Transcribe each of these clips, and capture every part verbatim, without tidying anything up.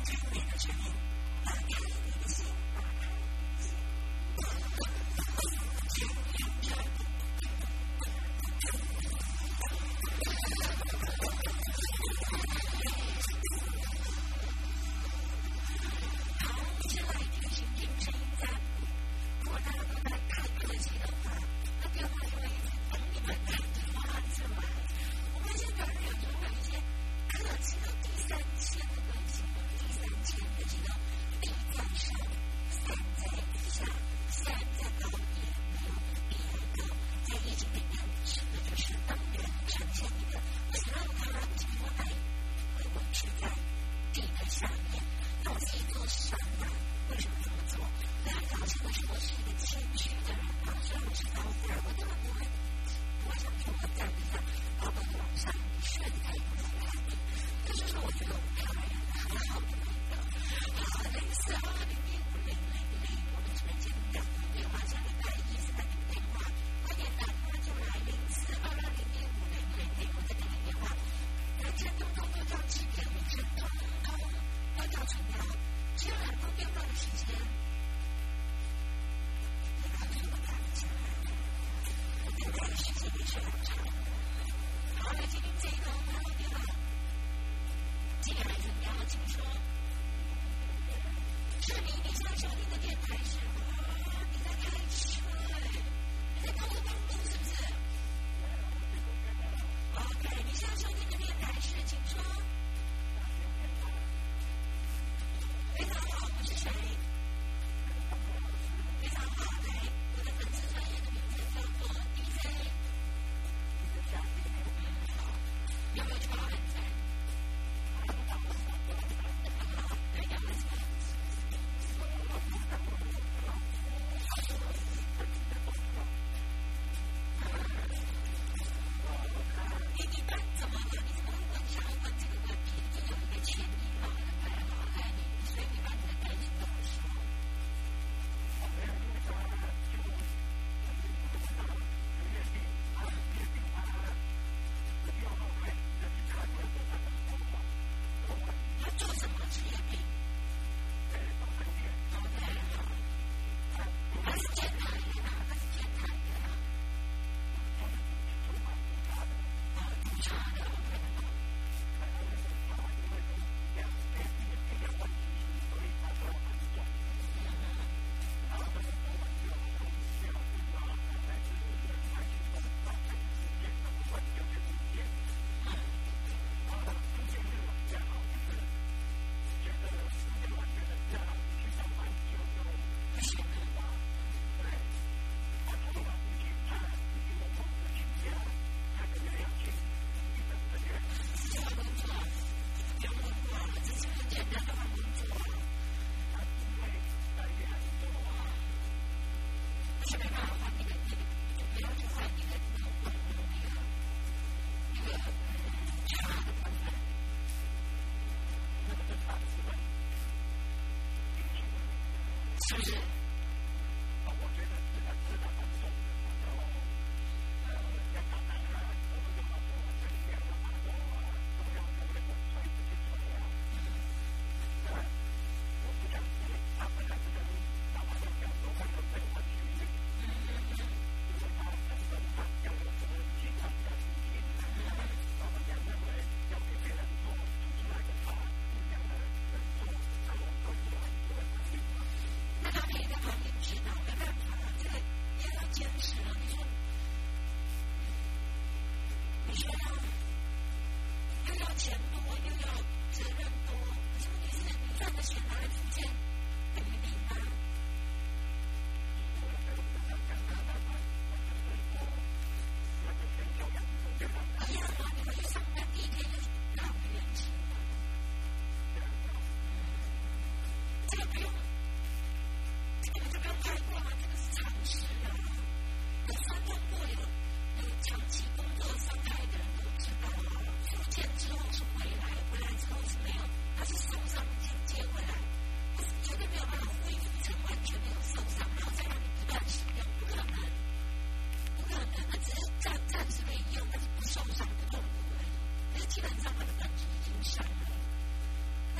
是不是？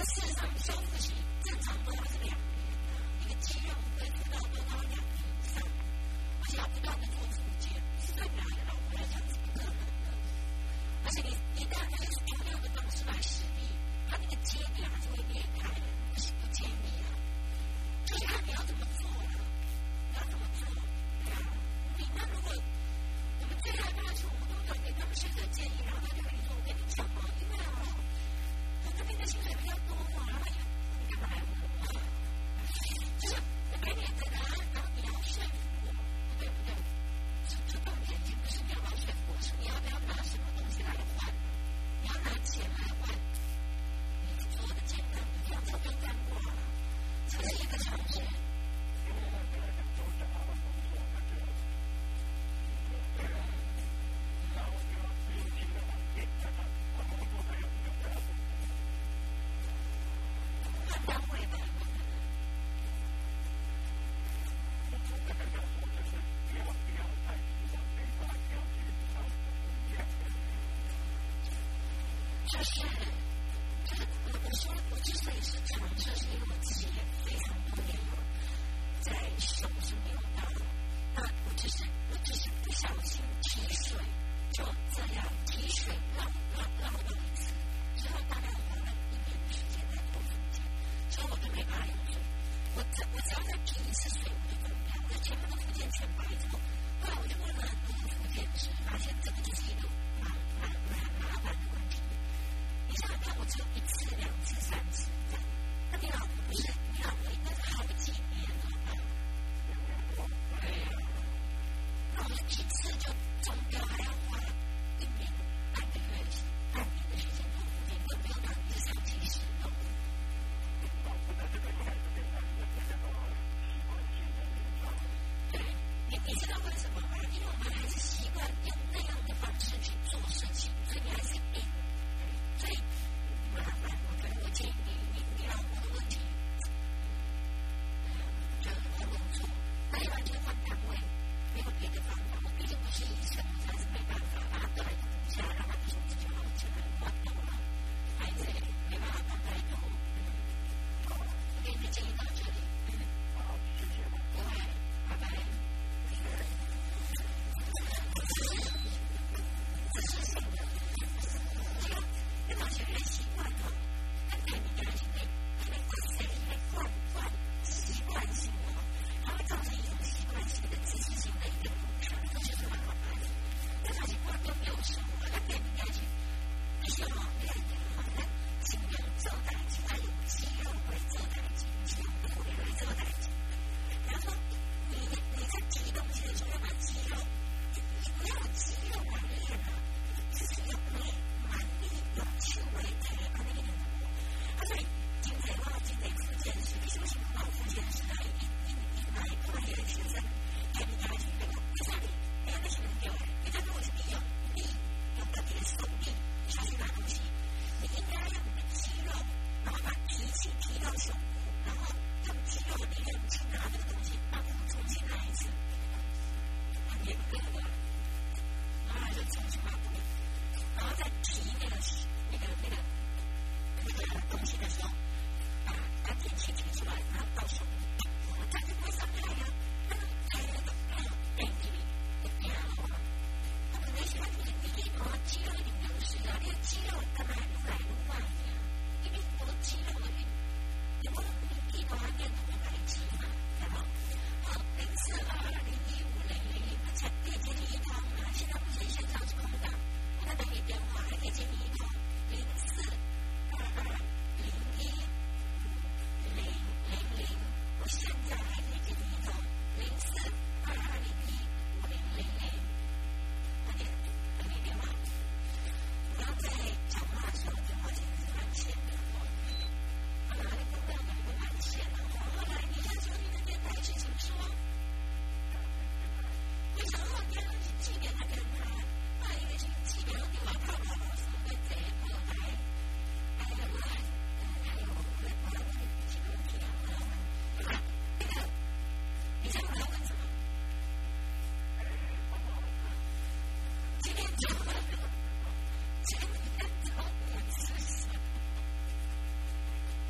就是就是我我说我之所以是尝试，是因为我自己也非常多年有在手是没有到，那我只是我只是不小心提水，就这样提水绕绕绕了一次，之后大概花了一年的时间在做复健，之后我就没办法用水，我只我只要再提一次水我就走不了，我前面的复健全白之后，后来我就问了很多复健师，发现这个就是一个蛮蛮蛮麻烦的问题。你想想看，我只有一次、两次、三次这样，那你老婆不是你老婆应该是好几年了吧？对呀，那我们一次就中标还要花一年半个月、半年的时间做复健，更不用讲日常去使用。对，你你知道为什么吗？因为我们还是习惯用那样的方式去做事情，所以你还是硬。所以麻烦，我可能我建议你，你你老婆的问题，我觉得我弄错，那要不然就换单位，没有别的方法。我毕竟不是医生，我还是没办法把它带骨下，让它手指就好起来，换头了，孩子也没办法放太多。好，我给你的建议到这里。好，谢谢。不会，拜拜。这是什么？跟某些人习惯哦，跟对你的人行为，因为这是因为惯惯习惯性哦，它会造成一种习惯性的自制性的一个补偿，这就是蛮麻烦的。但是习惯都没有熟，那对你要去必须要练的话，那尽量做代金，它有肌肉会做代金，肌肉不会会做代金。比方说，你你在提东西的时候要把肌肉，你不要肌肉来练啊，就是要练。有趣味的啊，那个人啊，所以今天我今天复健师，你是不是报复健师啊？一一一买过来的学生，给你家去对吧？为啥你？哎呀，那些人给我，你看我是利用力，用个点手力下去拿东西，你应该用你的肌肉，然后把提起提到胸部，然后用肌肉的力量去拿这个东西，把它重新来一次，很严格的，然后就重新把它。然后再提那个那个那个那个东西的时候，把把铁器提出来，然后到手里，它就不会伤害呀。那个还有个还有电梯的电脑啊，他可能喜欢你你一摸肌肉一定流失啊，那个肌肉干嘛撸来撸外呀？因为我肌肉的运，你摸你一摸它变成白肌嘛，对吧？好，零四二二零一五零零零，才可以接你一通啊，现在不是线上是空的。他的你电话还可以接你一通零四二二零一五零零零，我现在还可以接你一通零四二二零一五零零零，快点等你电话。不要在讲话的时候电话线是满线的哦，啊，你不要哪个满线了哦。后来你想说你的电台是请说，为什么我电话是几点的电台？一个星期，然后你来看看我是会怎样来，还有来，还有来我要问你几个问题啊，我要问，对吧？那个，你猜我要问什么？今天早上，今天早上我吃什么？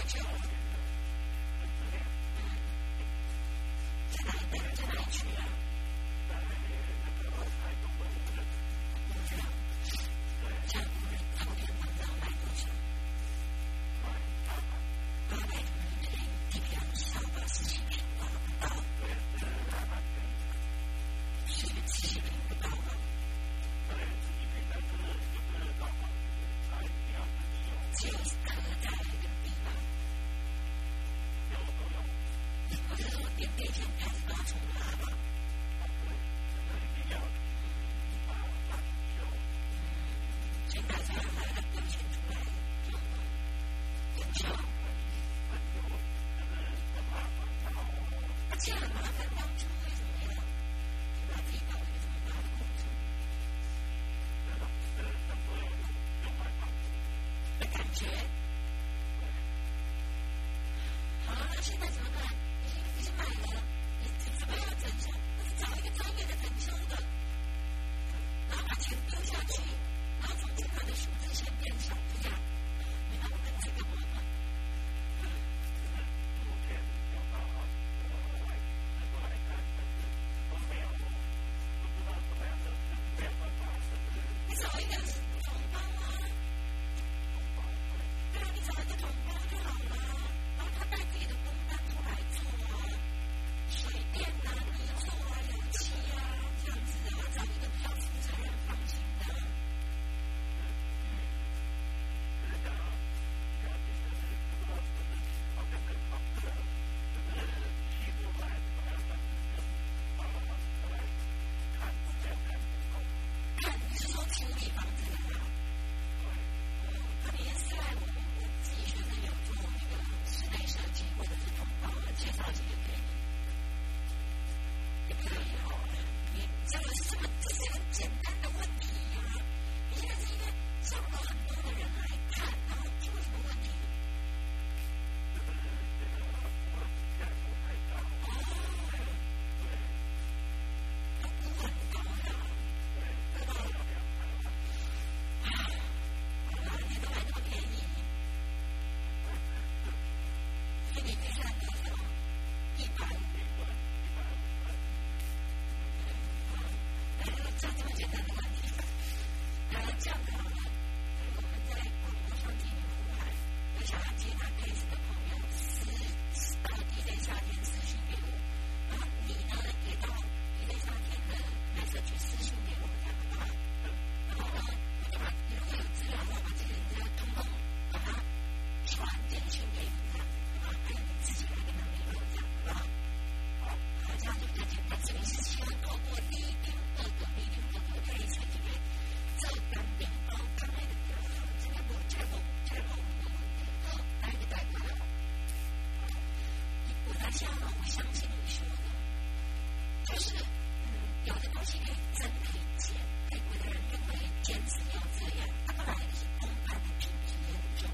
坚持要这样，他本来是公办的品质研究，